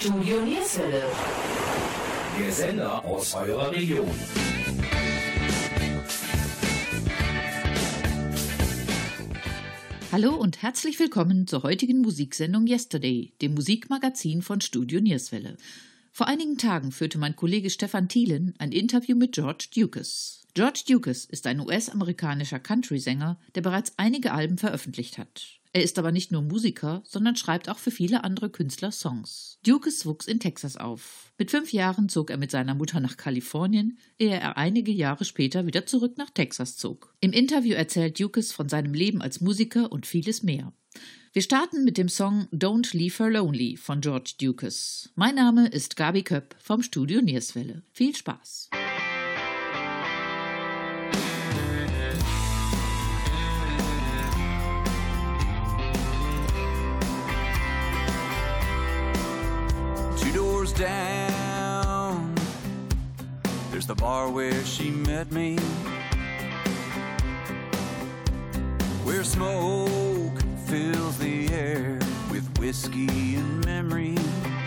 Studio Nierswelle. Der Sender aus eurer Region. Hallo und herzlich willkommen zur heutigen Musiksendung Yesterday, dem Musikmagazin von Studio Nierswelle. Vor einigen Tagen führte mein Kollege Stefan Thielen ein Interview mit George Dukes. George Dukes ist ein US-amerikanischer Country-Sänger, der bereits einige Alben veröffentlicht hat. Er ist aber nicht nur Musiker, sondern schreibt auch für viele andere Künstler Songs. Dukes wuchs in Texas auf. Mit 5 Jahren zog er mit seiner Mutter nach Kalifornien, ehe er einige Jahre später wieder zurück nach Texas zog. Im Interview erzählt Dukes von seinem Leben als Musiker und vieles mehr. Wir starten mit dem Song Don't Leave Her Lonely von George Dukes. Mein Name ist Gabi Köpp vom Studio Nierswelle. Viel Spaß! Down, there's the bar where she met me, where smoke fills the air with whiskey and memories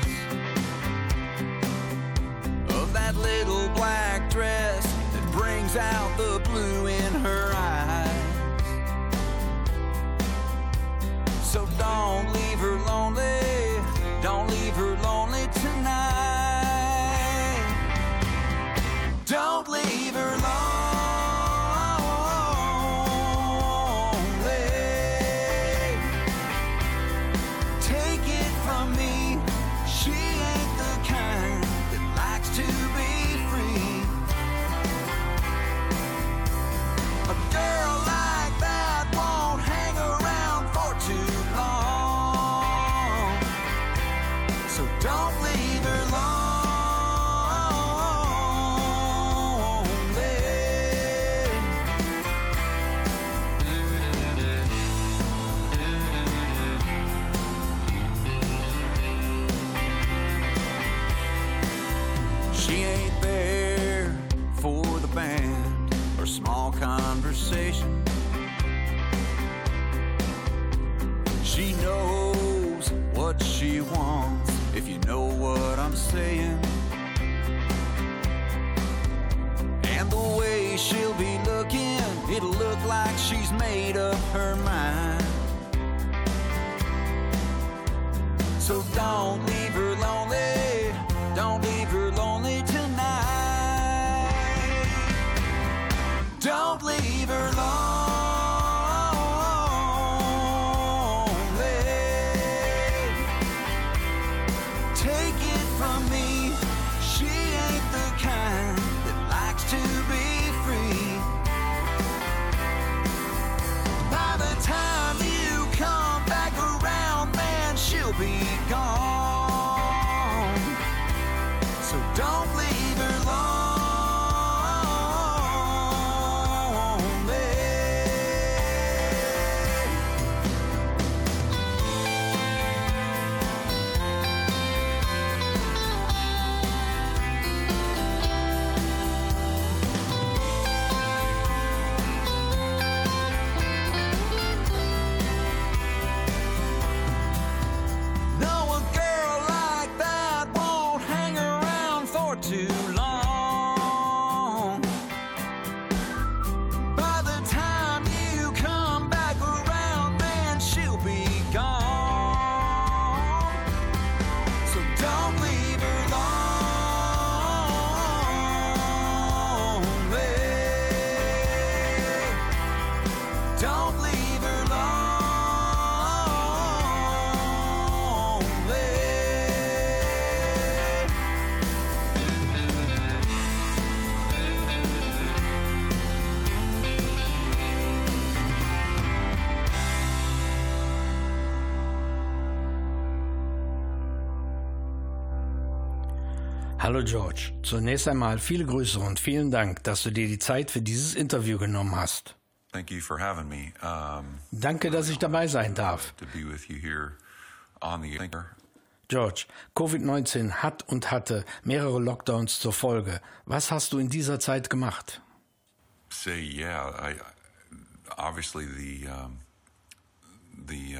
of that little black dress that brings out the blue in her eyes. So don't leave her lonely, don't leave her lonely tonight. Don't leave her lonely. Take it from me, she ain't the kind that likes to be free. A girl like that won't hang around for too long. So don't leave her lonely. She ain't there for the band or small conversation. She knows what she wants, if you know what I'm saying. And the way she'll be looking, it'll look like she's made up her mind. So don't leave her lonely, don't leave her lonely tonight. Don't leave her lonely. Take it from me, she ain't the kind that likes to be free. By the time you come back around, man, she'll be gone. So don't leave her lonely. No, a girl like that won't hang around for too long. By the time you come back around, man, she'll be gone. So don't leave her lonely. Don't leave her lonely. Hallo George, zunächst einmal viele Grüße und vielen Dank, dass du dir die Zeit für dieses Interview genommen hast. Thank you for having me. Danke, dass ich dabei sein darf. To be with you here on the air. George, Covid-19 hat und hatte mehrere Lockdowns zur Folge. Was hast du in dieser Zeit gemacht? Obviously the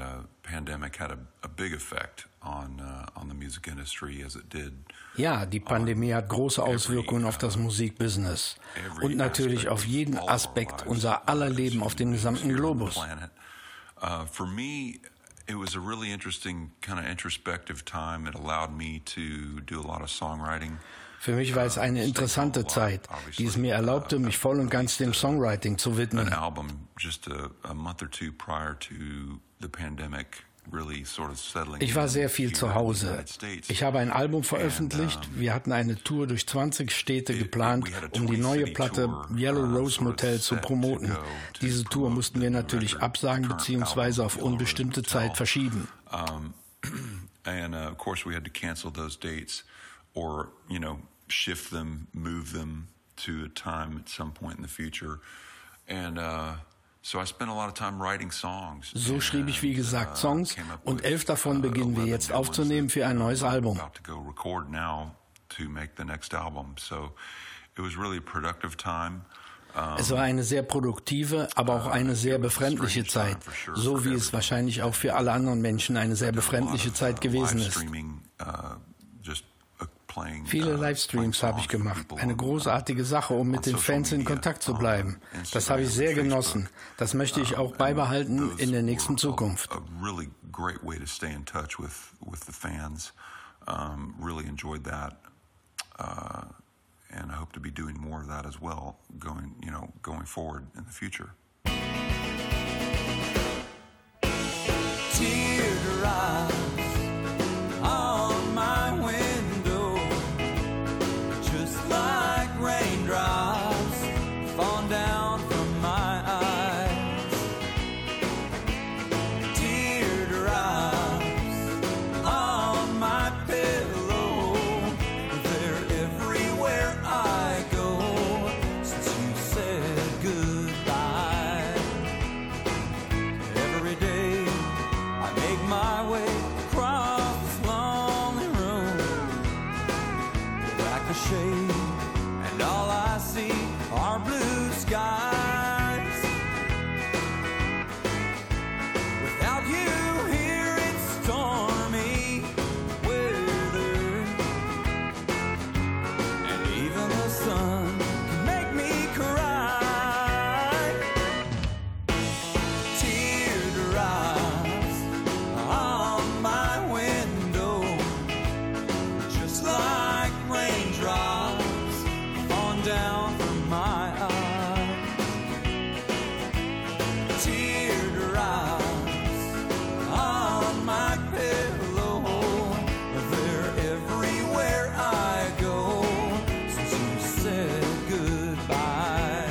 pandemic had a big effect on the music industry as it did. Ja, die Pandemie hat große Auswirkungen auf das Musikbusiness und natürlich auf jeden Aspekt unser aller Leben auf dem gesamten Globus. For me, it was a really interesting kind of introspective time. It allowed me to do a lot of songwriting. Für mich war es eine interessante Zeit, die es mir erlaubte, mich voll und ganz dem Songwriting zu widmen. An album just a month or two prior to the pandemic really sort of settling. Ich war sehr viel zu Hause. Ich habe ein Album veröffentlicht. Wir hatten eine Tour durch 20 Städte geplant, um die neue Platte Yellow Rose Motel zu promoten. Diese Tour mussten wir natürlich absagen bzw. auf unbestimmte Zeit verschieben. And of course we had to cancel those dates or, shift them, move them to a time at some point in the future. And so I spent a lot of time writing songs. So schrieb ich, wie gesagt, Songs und 11 davon beginnen wir jetzt aufzunehmen für ein neues Album. About to go record now to make the next album. So it was really a productive time. Es war eine sehr produktive, aber auch eine sehr befremdliche Zeit, so wie es wahrscheinlich auch für alle anderen Menschen eine sehr befremdliche Zeit gewesen ist. Viele Livestreams habe ich gemacht. Eine großartige Sache, um mit den Fans in Kontakt zu bleiben. Das habe ich sehr genossen. Das möchte ich auch beibehalten in der nächsten Zukunft. A really great way to stay in touch with the fans. Really enjoyed that. And I hope to be doing more of that as well going forward in the future. Teardrops on my window, just like raindrops fall down from my eyes. Teardrops on my pillow, they're everywhere I go since you said goodbye. Every day I make my way across this lonely room, back the shade, and all I see are blue skies. Without you here, it's stormy weather, and even the sun can make me cry. Teardrops on my window, just like raindrops falling down from my eyes. Teardrops on my pillow, they're everywhere I go since you said goodbye.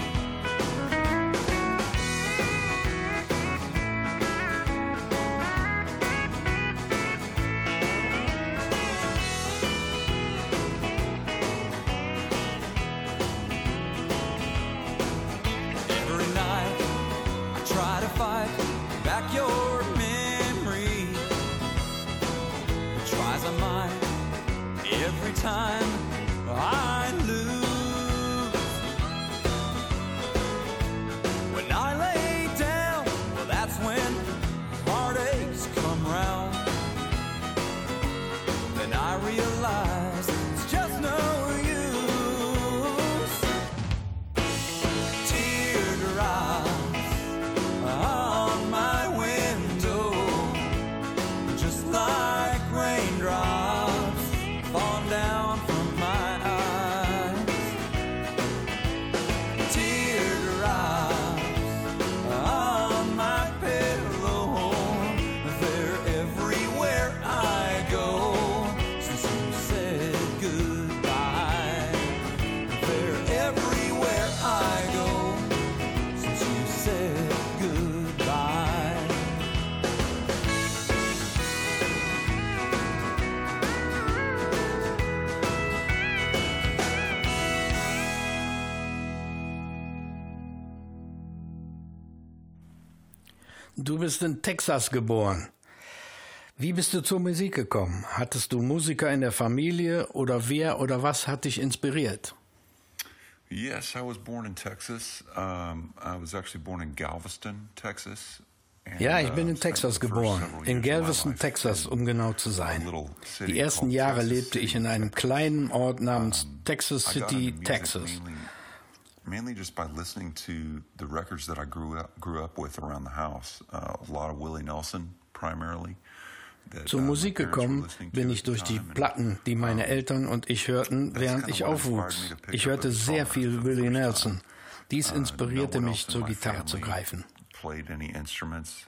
Every night I try to fight back your memory. Try as I might, every time I lose. When I lay down, well, that's when heartaches come round. Then I realize it's just no use. Teardrops on my window, just like raindrops fall down from my eyes. Teardrops on my pillow, they're everywhere I go since you said goodbye. They're everywhere I go since you said goodbye. Du bist in Texas geboren. Wie bist du zur Musik gekommen? Hattest du Musiker in der Familie oder wer oder was hat dich inspiriert? Yes, I was born in Texas. I was actually born in Galveston, Texas, Ja, ich bin in Texas geboren, in Galveston, Texas, um genau zu sein. Die ersten Jahre lebte ich in einem kleinen Ort namens Texas City, Texas. Mainly just by listening to the records that I grew up with around the house. A lot of Willie Nelson primarily. Zur Musik gekommen bin ich durch die Platten, die meine Eltern und ich hörten, während ich aufwuchs. Ich hörte sehr viel Willie Nelson. Dies inspirierte mich, zur Gitarre zu greifen. Played any instruments,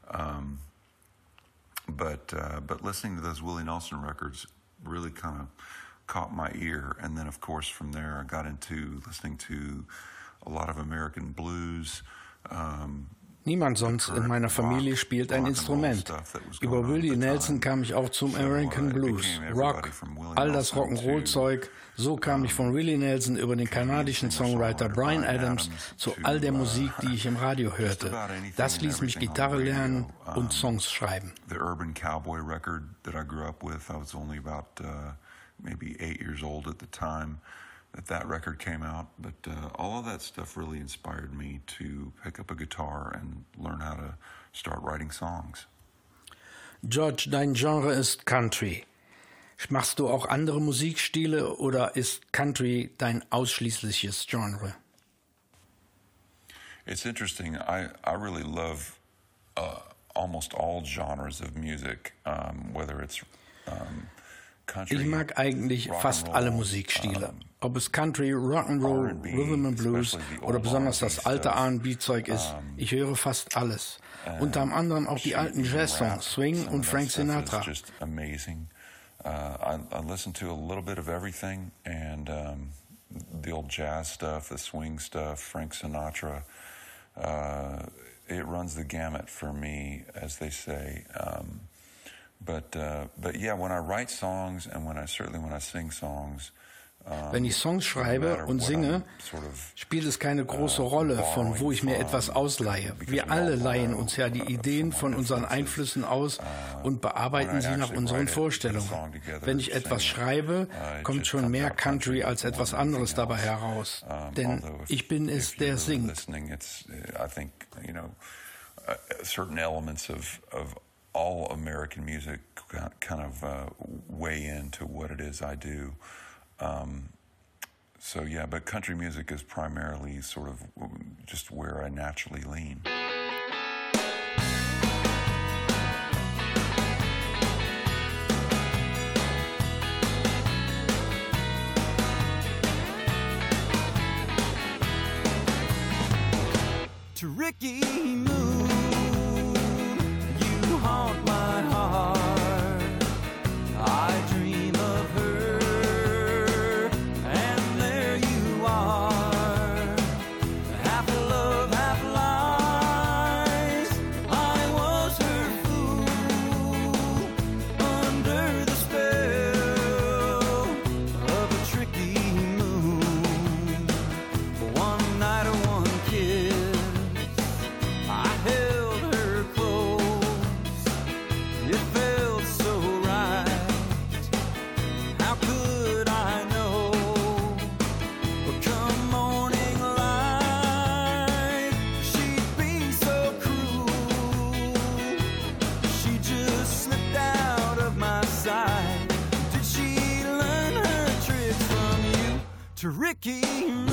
but listening to those Willie Nelson records really kind of caught my ear, and then of course from there I got into listening to a lot of American blues. Niemand sonst in meiner Familie spielt ein Instrument. Über Willie Nelson kam ich auch zum American Blues, Rock, all das Rock'n'Roll-Zeug. So kam ich von Willie Nelson über den kanadischen Songwriter Bryan Adams zu all der Musik, die ich im Radio hörte. Das ließ mich Gitarre lernen und Songs schreiben. The Urban Cowboy record that I grew up with, I was only about maybe 8 years old at the time that record came out, but all of that stuff really inspired me to pick up a guitar and learn how to start writing songs. George, dein Genre ist Country. Machst du auch andere Musikstile oder ist Country dein ausschließliches Genre? It's interesting. I really love almost all genres of music, whether it's Ich mag eigentlich fast alle Musikstile. Ob es Country, Rock'n'Roll, Rhythm and Blues oder besonders das alte R&B-Zeug ist, ich höre fast alles. Unter anderem auch die alten Jazz-Songs, Swing und Frank Sinatra. I listen to a little bit of everything, and the old jazz stuff, the swing stuff, Frank Sinatra. It runs the gamut for me, as they say. But yeah, when I write songs and when I sing songs. Wenn ich Songs schreibe und singe, spielt es keine große Rolle, von wo ich mir etwas ausleihe. Wir alle leihen uns ja die Ideen von unseren Einflüssen aus und bearbeiten sie nach unseren Vorstellungen. Wenn ich etwas schreibe, kommt schon mehr Country als etwas anderes dabei heraus. Denn ich bin es, der singt. Certain elements of all American music kind of weigh into what it is I do. So yeah, but country music is primarily sort of just where I naturally lean. To Ricky Moon, you haunt my heart. I dream of her, and there you are. Half love, half lies. I was her fool, under the spell of a tricky moon. One night or one kiss, I held her close. It felt so right. How could I know? But come morning light, she'd be so cruel. She just slipped out of my sight. Did she learn her tricks from you? To Ricky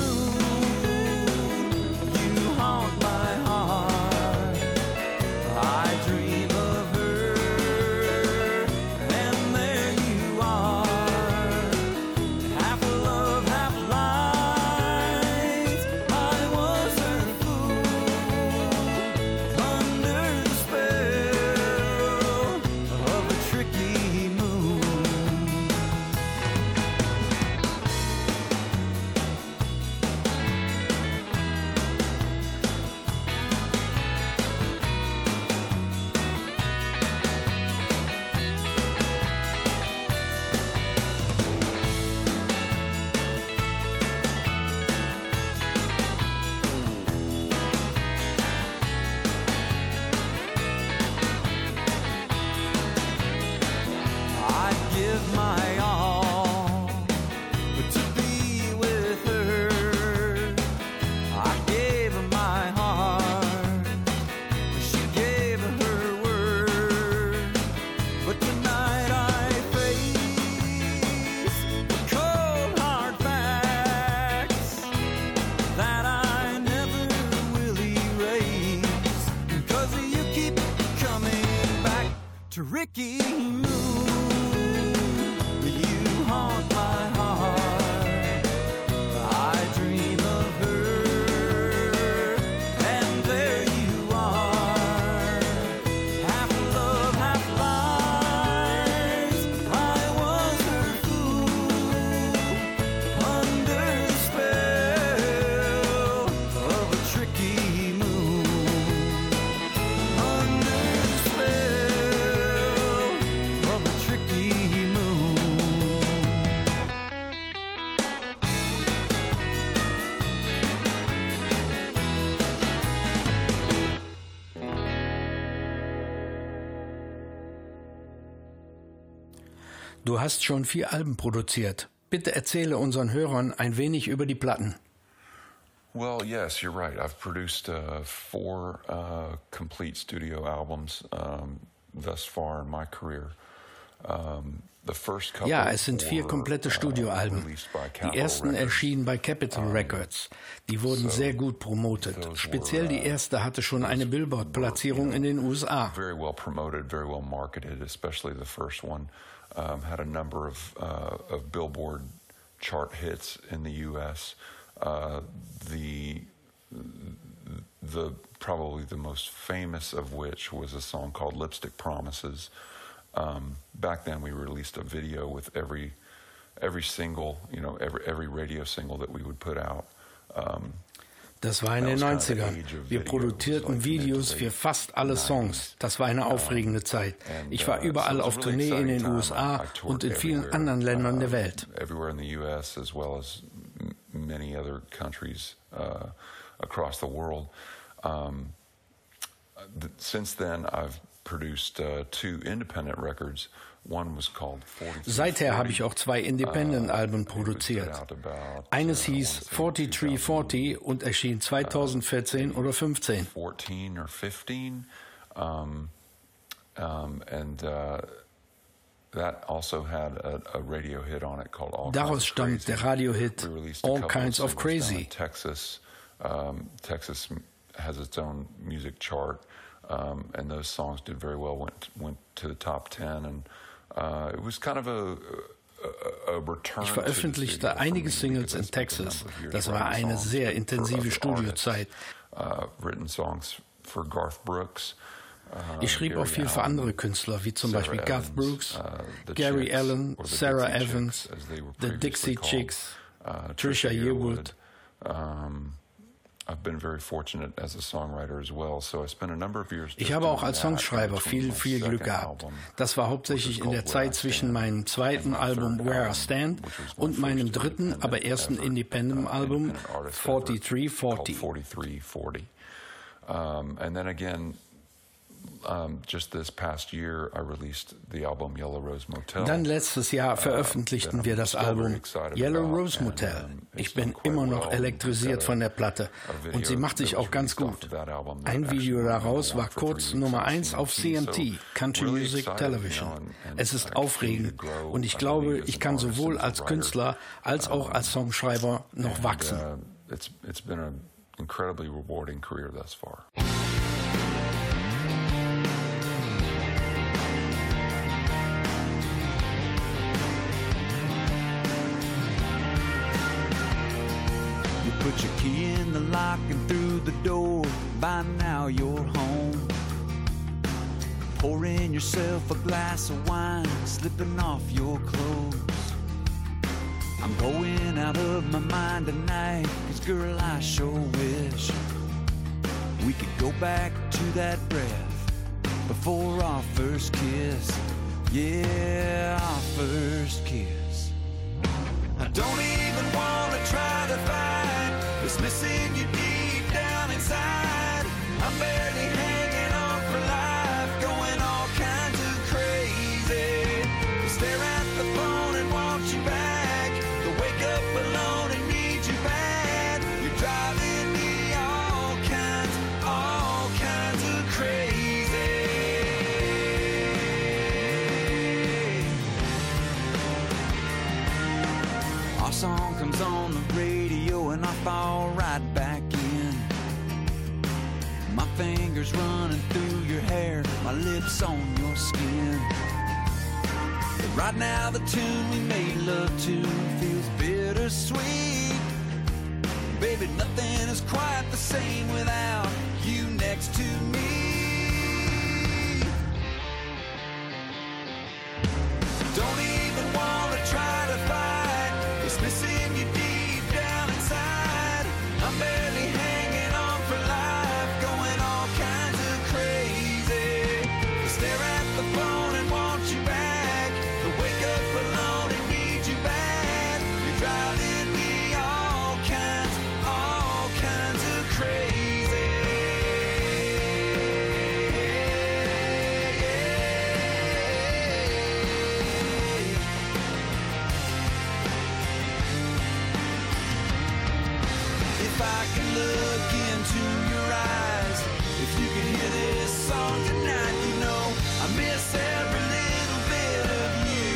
Moon, you haunt my heart. I dream of her, and there you are. Half love, half lies. I was her fool, under the spell of a tricky moon. tricky moon, you haunt my heart. I dream of her, and there you are. Half love, half lies. I was her fool, under the spell of a tricky moon. Du hast schon 4 Alben produziert. Bitte erzähle unseren Hörern ein wenig über die Platten. Well, yes, you're right. I've produced 4 complete studio albums thus far in my career. Ja, es sind 4 komplette Studioalben. Die ersten erschienen bei Capitol Records. Die wurden sehr gut promotet. Speziell die erste hatte schon eine Billboard-Platzierung in den USA. Very well promoted, very well marketed, especially the first one. Had a number of Billboard chart hits in the U.S. The probably the most famous of which was a song called Lipstick Promises. Back then we released a video with every single, every radio single that we would put out. Das war in den 90ern. Wir produzierten Videos für fast alle Songs. Das war eine aufregende Zeit. Ich war überall auf Tournee in den USA und in vielen anderen Ländern der Welt. Everywhere in the US as well as many other countries across the world. Since then I've produced 2 independent records. One was called 4340. Seither habe ich auch 2 Independent-Alben produziert. Eines hieß 4340 und erschien 2014 oder 15. 14 or 15. That also had a radio hit on it called All Daraus stammt der Radiohit All Kinds of Crazy. Texas has its own music chart, and those songs did very well. Went to the top 10, and it was kind of a return. Ich veröffentlichte einige Singles in Texas. Das war eine sehr intensive Studiozeit. Written songs for Garth Brooks. Ich schrieb auch viel für andere Künstler, wie zum Beispiel Garth Brooks, Gary Allan, Sarah Evans, The Dixie Chicks, Trisha Yearwood. Ich habe auch als Songschreiber viel Glück gehabt. Das war hauptsächlich in der Zeit zwischen meinem zweiten Album Where I Stand und meinem dritten, aber ersten Independent-Album 4340. And then again, just this past year, I released the album Yellow Rose Motel. Dann letztes Jahr veröffentlichten wir das Album Yellow Rose Motel. Ich bin immer noch elektrisiert von der Platte und sie macht sich auch ganz gut. Ein Video daraus war kurz Nummer 1 auf CMT, Country Music Television. Es ist aufregend und ich glaube, ich kann sowohl als Künstler als auch als Songschreiber noch wachsen. It's been an incredibly rewarding career thus far. Put your key in the lock and through the door. By now you're home. Pouring yourself a glass of wine, slipping off your clothes. I'm going out of my mind tonight, 'cause girl, I sure wish we could go back to that breath before our first kiss. Yeah, our first kiss. I don't even wanna try to fight what's missing you deep down inside. I'm barely hanging on for life, going all kinds of crazy. To stare at the phone and watch you back, to wake up alone and need you bad. You're driving me all kinds of crazy. Our song comes on the radio and I fall right back in. My fingers running through your hair, my lips on your skin. But right now the tune we made love to feels bittersweet. Baby, nothing is quite the same without you next to me. Don't even wanna try to fight, it's missing you deep down inside. I'm barely hanging on for life, going all kinds of crazy. I stare at the phone and want you back, but wake up alone and need you bad. You're driving me all kinds of crazy. If I could look into your eyes, if you could hear this song tonight, you know I miss every little bit of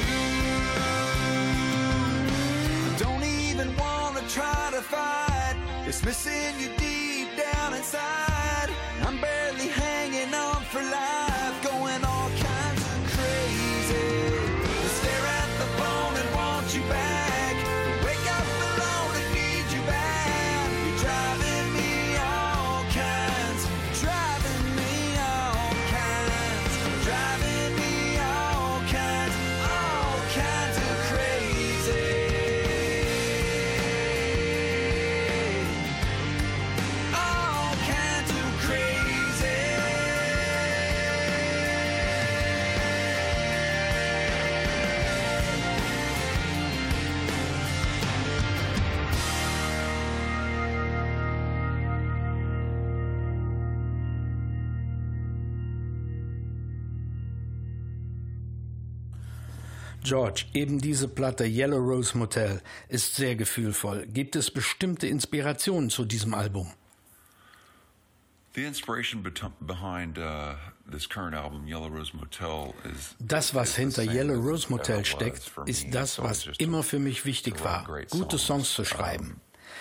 you. I don't even want to try to fight, it's missing you deep down inside. I'm barely hanging on for life, going all kinds of crazy. I stare at the phone and want you back, wake up alone and need you back. You're driving me all kinds, driving me all kinds, driving me all kinds of crazy. All kinds of crazy. George, eben diese Platte Yellow Rose Motel ist sehr gefühlvoll. Gibt es bestimmte Inspirationen zu diesem Album? The inspiration behind this current album, Yellow Rose Motel, is Das, was hinter Yellow Rose Motel steckt, ist das, was immer für mich wichtig war, gute Songs zu schreiben.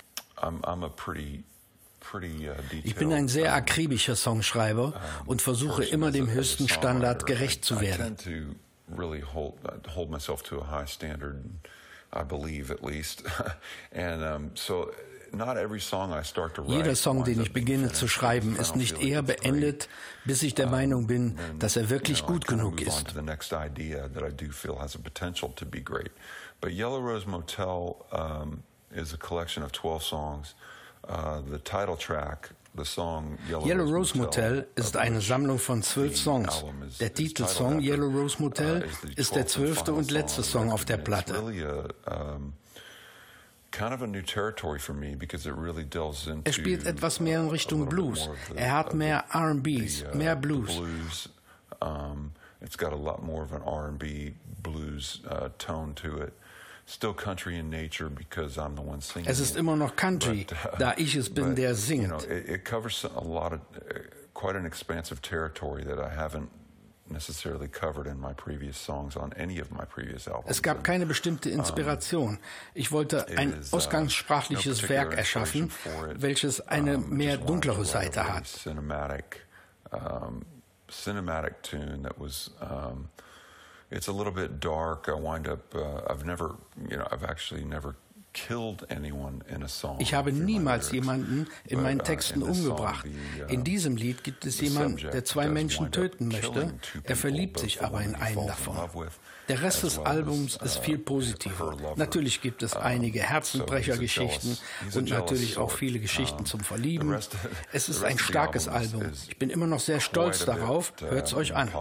Ich bin ein sehr akribischer Songschreiber und versuche immer dem höchsten Standard gerecht zu werden. Really hold myself to a high standard, I believe at least. And so not every song I start to write. Jeder Song, den ich beginne zu schreiben, ist nicht eher beendet, bis ich der Meinung bin, dass er wirklich gut genug ist. The next idea that I do feel has a potential to be great. But Yellow Rose Motel is a collection of 12 songs. The title track, the song Yellow Rose Motel ist eine Sammlung von 12 Songs. Der Titelsong Yellow Rose Motel ist der 12. und letzte Song auf der Platte. Er spielt etwas mehr in Richtung Blues. Er hat mehr R&Bs, mehr Blues. It's got a lot more of an R&B blues tone to it. Still country in nature because I'm the one singing. Es ist immer noch Country, da ich es bin, der singt. You know, it covers a lot of quite an expansive territory that I haven't necessarily covered in my previous songs on any of my previous albums. Es gab keine bestimmte Inspiration. Ich wollte ein ausgangssprachliches Werk erschaffen, welches eine mehr dunklere Seite hat. Cinematic tune that was it's a little bit dark. I wind up I've actually never killed anyone in a song. Ich habe niemals jemanden in meinen Texten umgebracht. In diesem Lied gibt es jemanden, der 2 Menschen töten möchte. Er verliebt sich aber in einen davon. Der Rest des Albums ist viel positiver. Natürlich gibt es einige Herzenbrechergeschichten und natürlich auch viele Geschichten zum Verlieben. Es ist ein starkes Album. Ich bin immer noch sehr stolz darauf. Hört's euch an.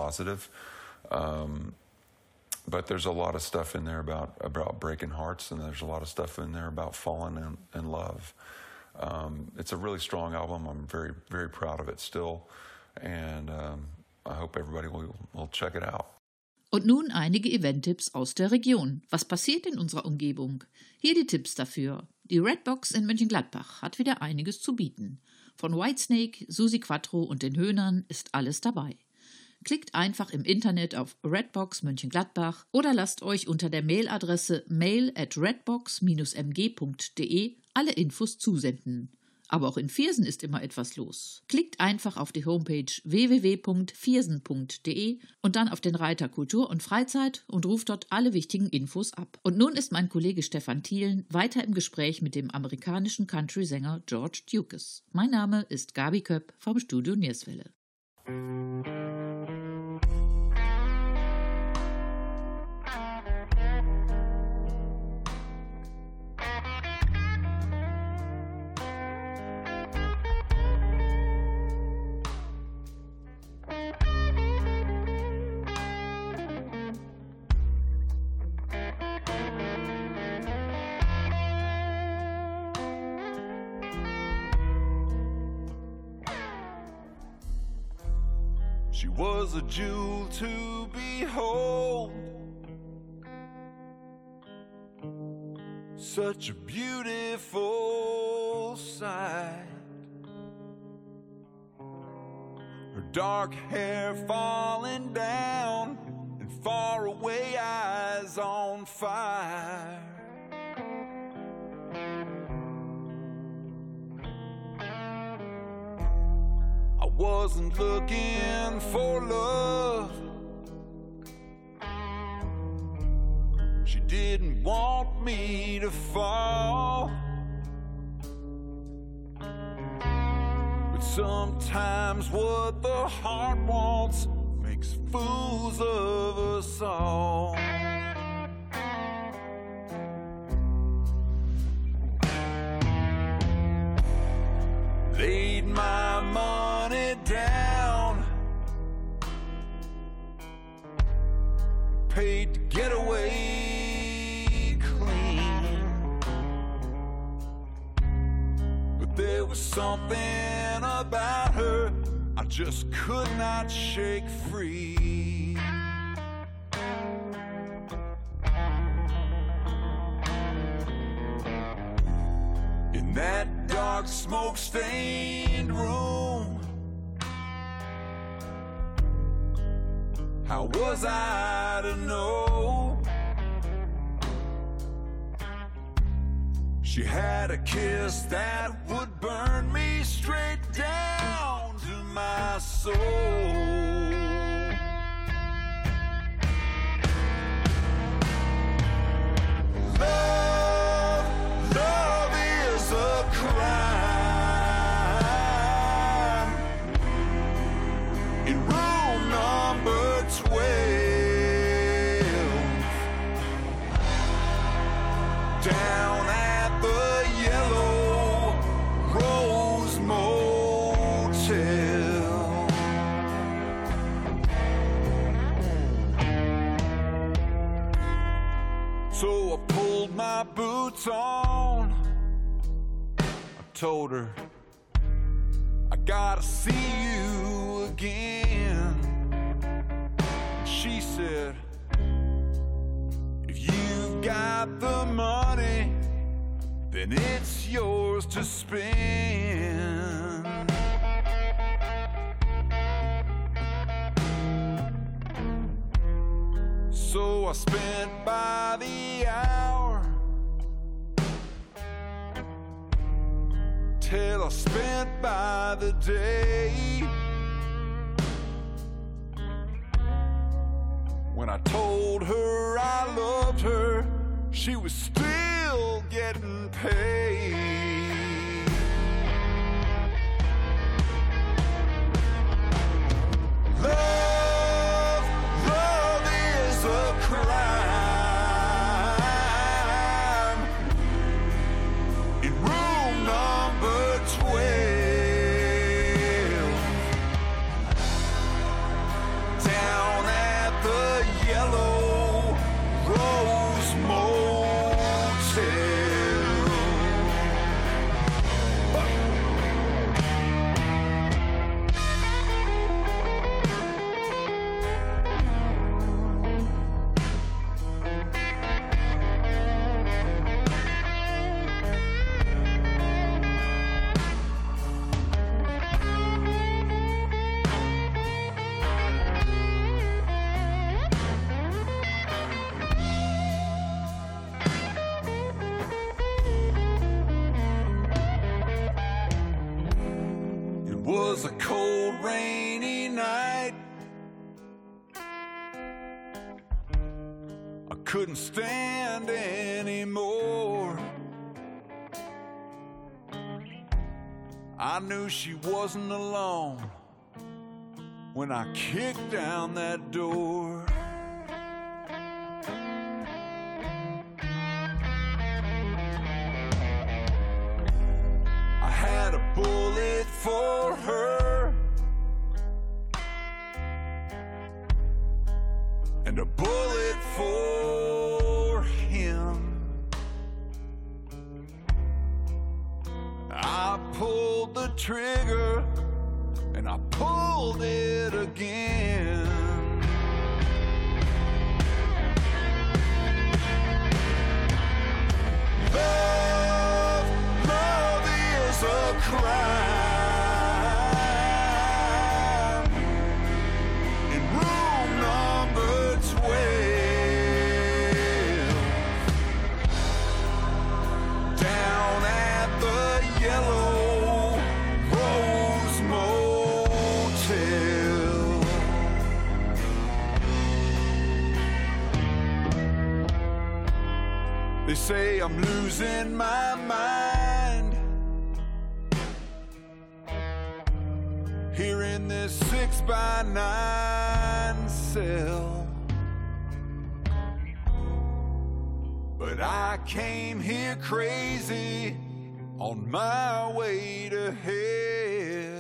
But there's a lot of stuff in there about breaking hearts, and there's a lot of stuff in there about falling in love. It's a really strong album. I'm very, very proud of it still, and I hope everybody will check it out. Und nun einige Event-Tipps aus der Region. Was passiert in unserer Umgebung? Hier die Tipps dafür. Die Redbox in Mönchengladbach hat wieder einiges zu bieten. Von Whitesnake, Susi Quattro und den Höhnern ist alles dabei. Klickt einfach im Internet auf Redbox Mönchengladbach oder lasst euch unter der Mailadresse mail@redbox-mg.de alle Infos zusenden. Aber auch in Viersen ist immer etwas los. Klickt einfach auf die Homepage www.viersen.de und dann auf den Reiter Kultur und Freizeit und ruft dort alle wichtigen Infos ab. Und nun ist mein Kollege Stefan Thielen weiter im Gespräch mit dem amerikanischen Country-Sänger George Dukes. Mein Name ist Gabi Köpp vom Studio Nierswelle. She was a jewel to behold, such a beautiful sight. Her dark hair falling down and far away eyes on fire. Wasn't looking for love. She didn't want me to fall. But sometimes what the heart wants makes fools of us all. Laid my money down, paid to get away clean. But there was something about her I just could not shake free. In that dark smoke-stained room, how was I to know? She had a kiss that would burn me straight down to my soul. Love is a crime. In room number 12, down at the Yellow Rose Motel. So I pulled my boots on. I told her, I gotta see you again. She said, if you've got the money, then it's yours to spend. So I spent by the hour till I spent by the day. When I told her I loved her, she was still getting paid. Love is a crime. In room number 12, down at the Yellow Rose Motel. I couldn't stand anymore. I knew she wasn't alone when I kicked down that door. I had a bullet for her and a bullet for him. I pulled the trigger and I pulled it again. Love, love is a crime. In room number 12, down at the Yellow Rose Motel. They say I'm losing my mind here in this 6x9 cell, but I came here crazy on my way to hell.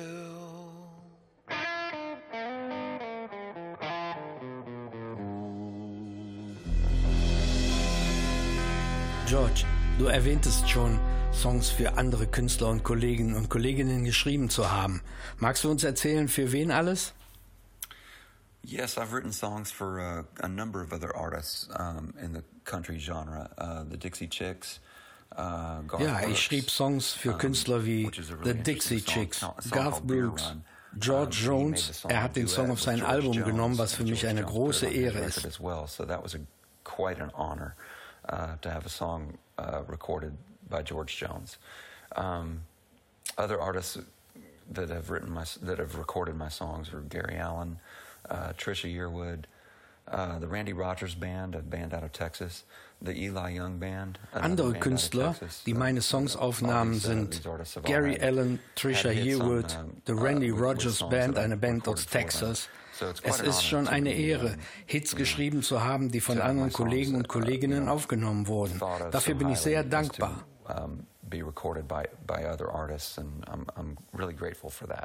George, du erwähntest schon, Songs für andere Künstler und Kollegen und Kolleginnen geschrieben zu haben. Magst du uns erzählen, für wen alles? Yes, I've written songs for a number of other artists in the country genre. The Dixie Chicks, Garth Ja, ich Brooks, schrieb Songs für Künstler wie which is a The really Dixie interesting Chicks, song Garth called Beer Brooks, Run. George He made Jones. the song Er hat den duet Song auf with sein George Album Jones, genommen, was für and mich George eine Jones große put it on Ehre his ist. record as well. So that was quite an honor to have a song recorded by George Jones. Other artists that have recorded my songs were Gary Allan, Trisha Yearwood, the Randy Rogers Band, a band out of Texas, the Eli Young Band. Andere Künstler, die meine Songs aufnahmen, sind Gary Allan, Trisha Yearwood, The Randy Rogers Band, eine Band aus Texas. Es ist schon eine Ehre, Hits geschrieben zu haben, die von anderen Kollegen und Kolleginnen aufgenommen wurden. Dafür bin ich sehr dankbar. Be recorded by other artists, and I'm really grateful for that.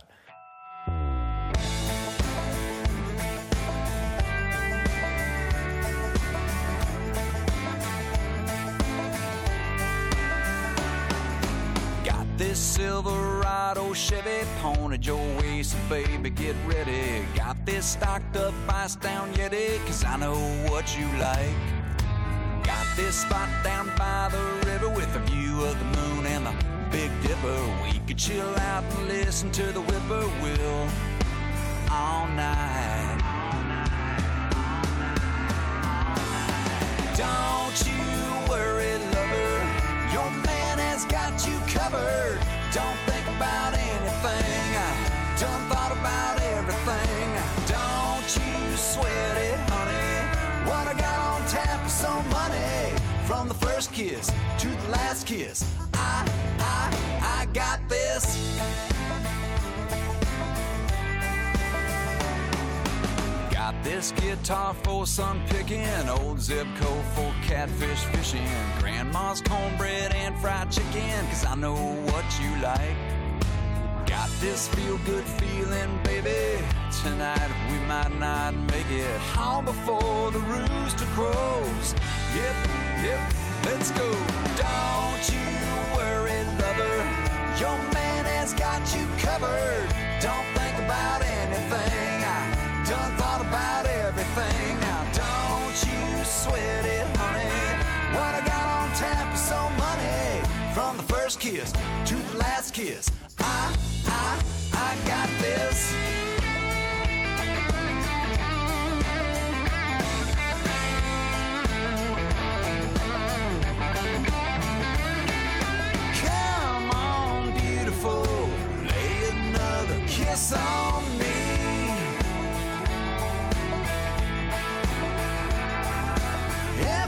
Got this Silverado Chevy pointed your way, so baby get ready. Got this stocked up ice down Yeti, 'cause I know what you like. Got this spot down by the river with a view of the moon and the Big Dipper. We could chill out and listen to the whippoorwill all night. Don't you worry, lover, your man has got you covered. Don't think about anything, done thought about everything. Don't you sweat it, honey, what I got on tap is some money. From the first kiss to the last kiss, I got this. Got this guitar for sun picking, old zip code for catfish fishing, grandma's cornbread and fried chicken, 'cause I know what you like. Got this feel-good feeling, baby, tonight we might not make it home before the rooster crows. Yep, let's go. Don't you worry, lover, your man has got you covered. Don't think about anything, I done thought about everything. Now don't you sweat it, honey, what I got on tap is so money. From the first kiss to the last kiss, I got this. Come on, beautiful, lay another kiss on me.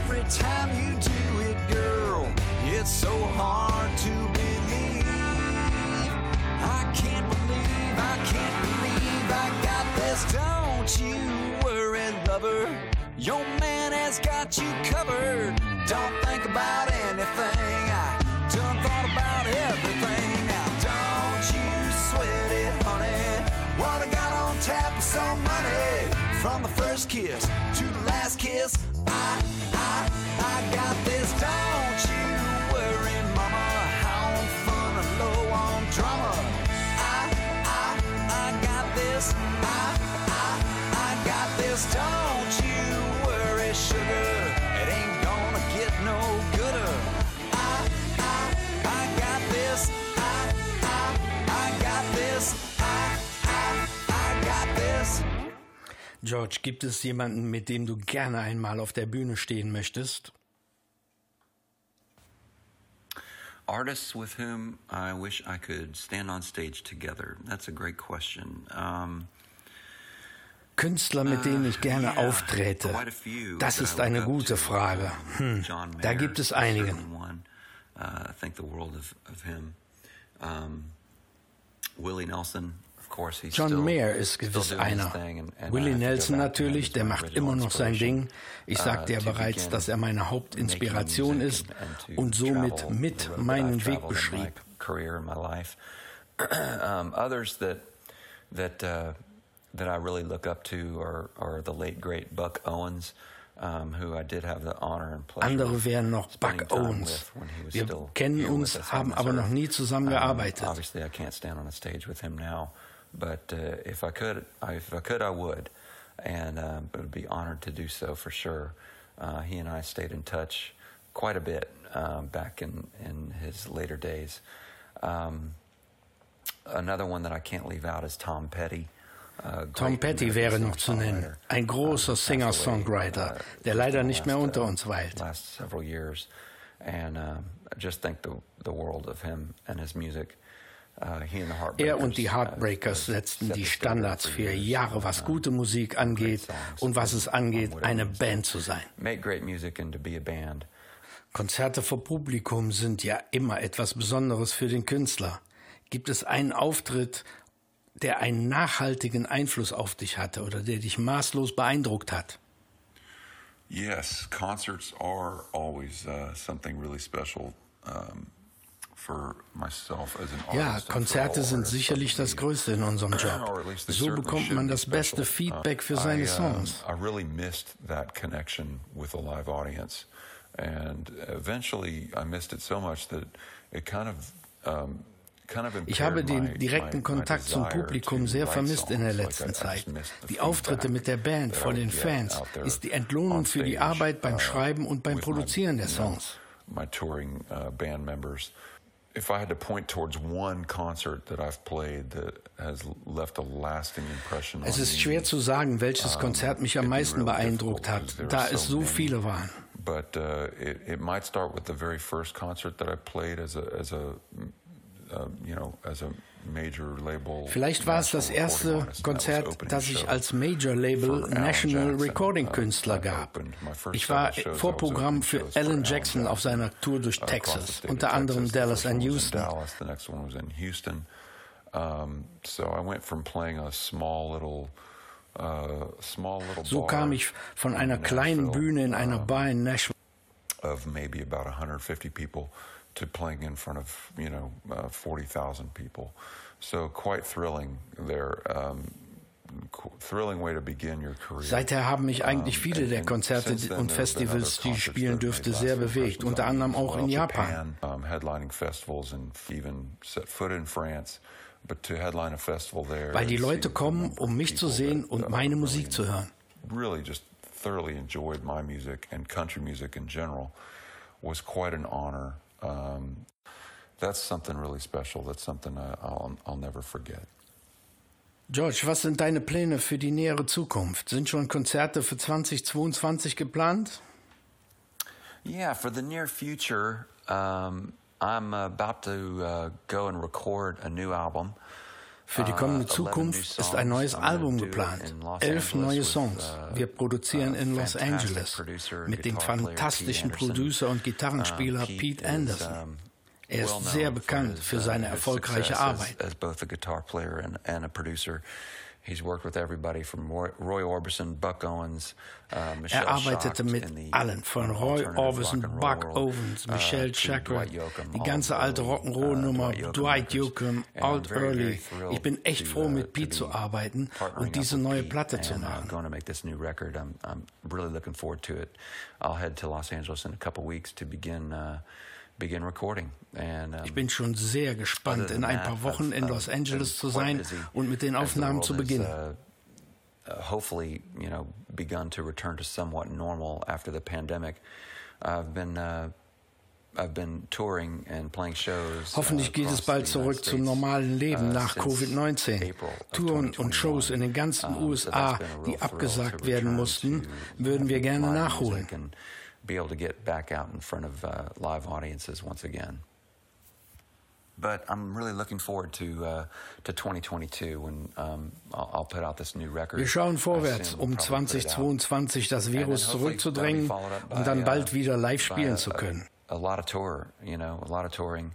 Your man has got you covered. Don't think about anything. I done thought about everything. Now don't you sweat it, honey. What I got on tap is some money. From the first kiss to the last kiss, I got this. Don't you worry, mama. How I'm fun and low on drama. I got this. I got this. Don't you worry, sugar. It ain't gonna get no gooder. I got this. I got this. I got this. George, gibt es jemanden, mit dem du gerne einmal auf der Bühne stehen möchtest? Artists with whom I wish I could stand on stage together. That's a great question. Künstler, mit denen ich gerne aufträte. Das ist eine gute Frage. Da gibt es einige. Willie Nelson. John Mayer ist gewiss einer. Willie Nelson natürlich, der macht immer noch sein Ding. Ich sagte ja bereits, dass er meine Hauptinspiration ist und somit mit meinen Weg beschrieb. Others that I really look up to are the late great Buck Owens, who I did have the honor and pleasure. Andere wären noch Buck Owens. Wir kennen uns, haben aber noch nie zusammengearbeitet. Obviously, I can't stand on a stage with him now, but if I could, I would, and it would be honored to do so for sure. He and I stayed in touch quite a bit back in his later days. Another one that I can't leave out is Tom Petty. Tom Petty wäre noch zu nennen, ein großer Singer-Songwriter, der leider nicht mehr unter uns weilt. Last several years, and just think the world of him and his music. Er und die Heartbreakers setzten die Standards für Jahre, was gute Musik angeht und was es angeht, eine Band zu sein. Make great music and to be a band. Konzerte vor Publikum sind ja immer etwas Besonderes für den Künstler. Gibt es einen Auftritt, der einen nachhaltigen Einfluss auf dich hatte oder der dich maßlos beeindruckt hat? Yes, concerts are always something really special for myself as an artist. Ja, Konzerte sind sicherlich das Größte in unserem Job. So bekommt man das beste Feedback für seine Songs. I really missed that connection with a live audience, and eventually I missed it so much that it kind of Ich habe den direkten Kontakt zum Publikum sehr vermisst in der letzten Zeit. Die Auftritte mit der Band vor den Fans ist die Entlohnung für die Arbeit beim Schreiben und beim Produzieren der Songs. My touring band members. If I had to point towards one concert that I've played that has left a lasting impression on me. Es ist schwer zu sagen, welches Konzert mich am meisten beeindruckt hat, da es so viele waren. But it might start with the very first concert that I played as a major label. Vielleicht war es das erste Konzert, das ich als Major Label National Recording Künstler gab. Ich war Vorprogramm für Alan Jackson auf seiner Tour durch Texas, unter anderem Dallas und Houston. The next one was in Houston. So I went from playing a small little So kam ich von einer kleinen Bühne in einer Bar in Nashville of maybe about 150 people to playing in front of 40,000 people. So quite thrilling there. Thrilling way to begin your career. Seither haben mich eigentlich viele der Konzerte und Festivals, die ich spielen durfte, sehr bewegt, unter anderem auch in Japan. Headlining festivals and even set foot in France. But to headline a festival there. Weil die Leute kommen, um mich zu sehen und meine Musik zu hören. Really just thoroughly enjoyed my music and country music in general. Was quite an honor. That's something really special. That's something I'll never forget. George, was sind deine Pläne für die nähere Zukunft? Sind schon Konzerte für 2022 geplant? Yeah, for the near future, I'm about to go and record a new album. Für die kommende Zukunft ist ein neues Album geplant. 11 neue Songs. Wir produzieren in Los Angeles mit dem fantastischen Producer und Gitarrenspieler Pete Anderson. Er ist sehr bekannt für seine erfolgreiche Arbeit. He's worked with everybody from Roy Orbison, Buck Owens, Michelle arbeitete mit allen, von Roy Orbison, Buck Owens, Michelle Schacht, die ganze alte Rock'n'Roll-Nummer, Dwight Yoakam, Alt Early. Ich bin echt froh, mit Pete zu arbeiten und diese neue Platte zu machen. I'm really looking forward to it. I'll head to Los Angeles in a couple weeks to begin recording. Ich bin schon sehr gespannt, in ein paar Wochen in Los Angeles zu sein und mit den Aufnahmen zu beginnen. Hopefully, begun to return to somewhat normal after the pandemic. I've been touring and playing shows. Hoffentlich geht es bald zurück zum normalen Leben nach Covid-19. Touren und Shows in den ganzen USA, die abgesagt werden mussten, würden wir gerne nachholen. Be able to get back out in front of live audiences once again. But I'm really looking forward to 2022 when I'll put out this new record. Wir schauen vorwärts, 2022 das Virus zurückzudrängen und dann bald wieder live spielen zu können. A lot of touring,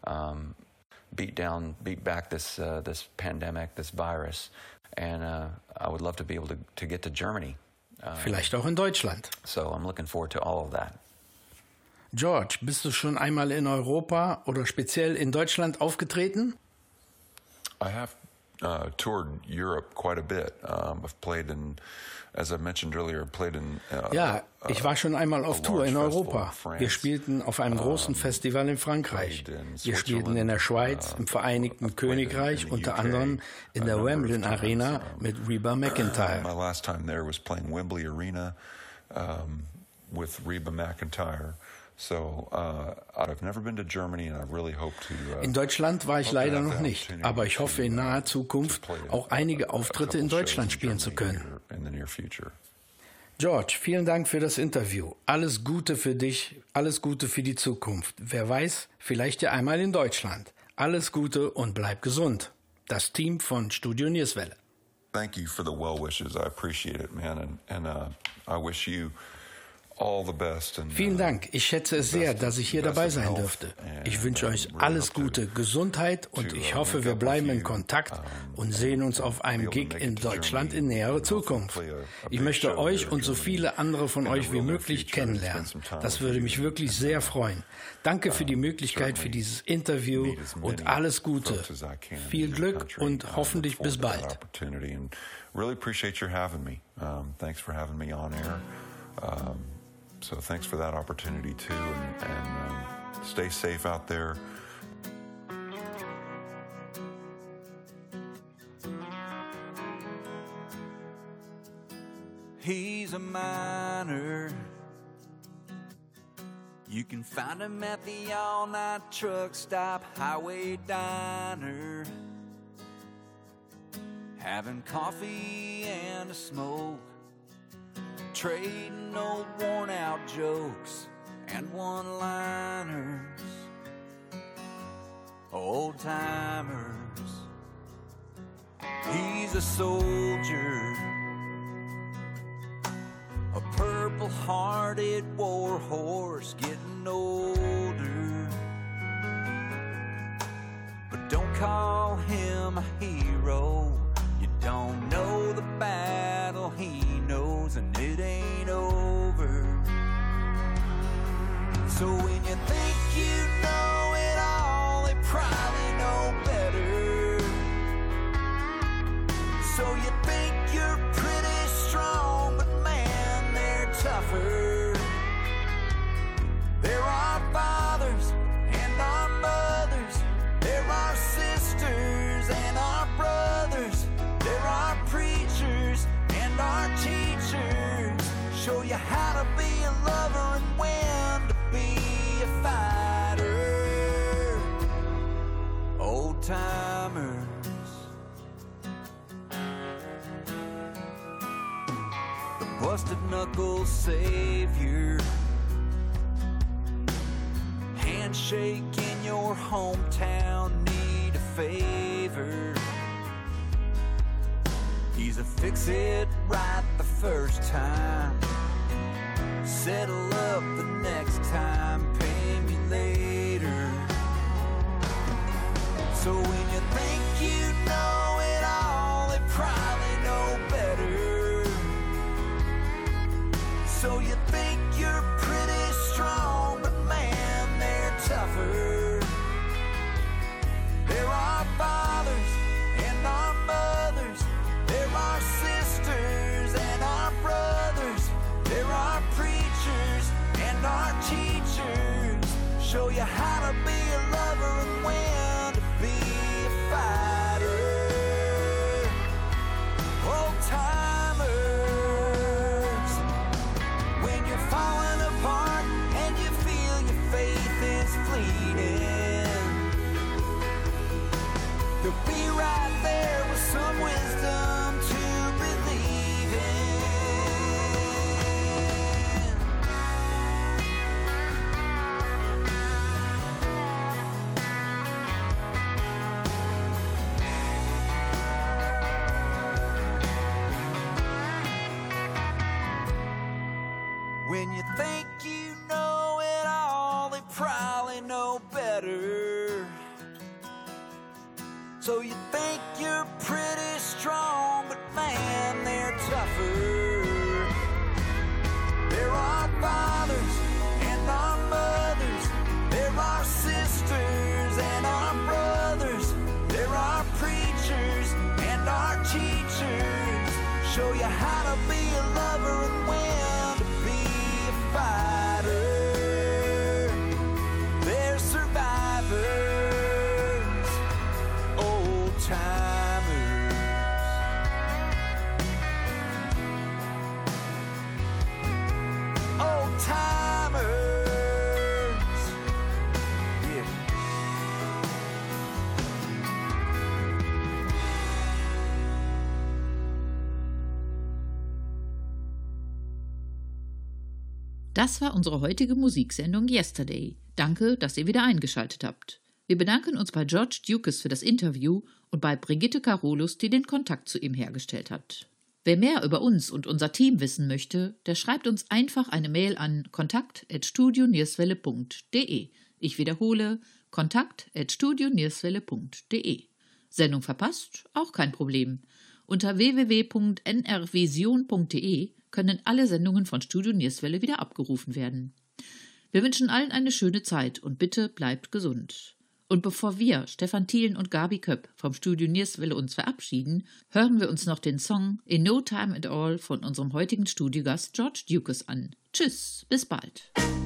beat back this pandemic, this virus, and I would love to be able to get to Germany. Vielleicht auch in Deutschland. So I'm looking forward to all of that. George, bist du schon einmal in Europa oder speziell in Deutschland aufgetreten? I have toured Europe quite a bit. I've played in, as I mentioned earlier, ja, ich war schon einmal auf Tour in Europa. Wir spielten auf einem großen Festival in Frankreich. Wir spielten in der Schweiz, im Vereinigten Königreich, unter anderem in der Wembley Arena mit Reba McEntire. My last time there was playing Wembley Arena with Reba McEntire. So, I've never been to Germany and I really hope to. In Deutschland war ich leider noch nicht, aber ich hoffe in naher Zukunft auch einige Auftritte in Deutschland spielen zu können. George, vielen Dank für das Interview. Alles Gute für dich, alles Gute für die Zukunft. Wer weiß, vielleicht ja einmal in Deutschland. Alles Gute und bleib gesund. Das Team von Studio Nierswelle. Thank you for the well wishes. I appreciate it, man, and I wish you all the best. Vielen Dank. Ich schätze es sehr, dass ich hier dabei sein dürfte. Ich wünsche euch alles Gute, Gesundheit und ich hoffe, wir bleiben in Kontakt und sehen uns auf einem Gig in Deutschland in näherer Zukunft. Ich möchte euch und so viele andere von euch wie möglich kennenlernen. Das würde mich wirklich sehr freuen. Danke für die Möglichkeit für dieses Interview und alles Gute. Viel Glück und hoffentlich bis bald. Really appreciate your having me. Thanks for having me on air. So thanks for that opportunity too, and stay safe out there. He's a miner. You can find him at the all-night truck stop, highway diner, having coffee and a smoke, trading old worn-out jokes and one-liners, old-timers. He's a soldier, a purple-hearted war horse getting older. But don't call him a hero. You don't know the battle he knows, and it ain't over. So when you think you know it all, they probably know better. So you think you're pretty strong, but man, they're tougher. There are fathers and our mothers, there are sisters and our brothers, there are preachers and our teachers, show you how to be a lover and when to be a fighter. Old timers. The busted knuckle savior, handshake in your hometown, need a favor. He's a fix it right the first time, settle up the next time, pay me later. So when you think you know it all, they probably So you think you're pretty strong, but man, they're tougher. There are fathers and our mothers, there are sisters and our brothers, there are preachers and our teachers. Show you how to be a lover and when to be a fighter. Old timers, when you're falling apart and you feel your faith is fleeting, they'll be right there with some wisdom to believe in. When you think you know it all, they probably know better. So you think you're pretty strong, but man, they're tougher. There are fathers and our mothers, there are sisters and our brothers, there are preachers and our teachers. Show you how to be a lover and when to be a fighter. They're survivors, old timers. Old timers. Yeah. Das war unsere heutige Musiksendung Yesterday. Danke, dass ihr wieder eingeschaltet habt. Wir bedanken uns bei George Dukes für das Interview und bei Brigitte Carolus, die den Kontakt zu ihm hergestellt hat. Wer mehr über uns und unser Team wissen möchte, der schreibt uns einfach eine Mail an kontakt@studionierswelle.de. Ich wiederhole, kontakt@studionierswelle.de. Sendung verpasst? Auch kein Problem. Unter www.nrvision.de können alle Sendungen von Studio Nierswelle wieder abgerufen werden. Wir wünschen allen eine schöne Zeit und bitte bleibt gesund. Und bevor wir, Stefan Thielen und Gabi Köpp, vom Studio Nierswelle uns verabschieden, hören wir uns noch den Song In No Time at All von unserem heutigen Studiogast George Dukes an. Tschüss, bis bald.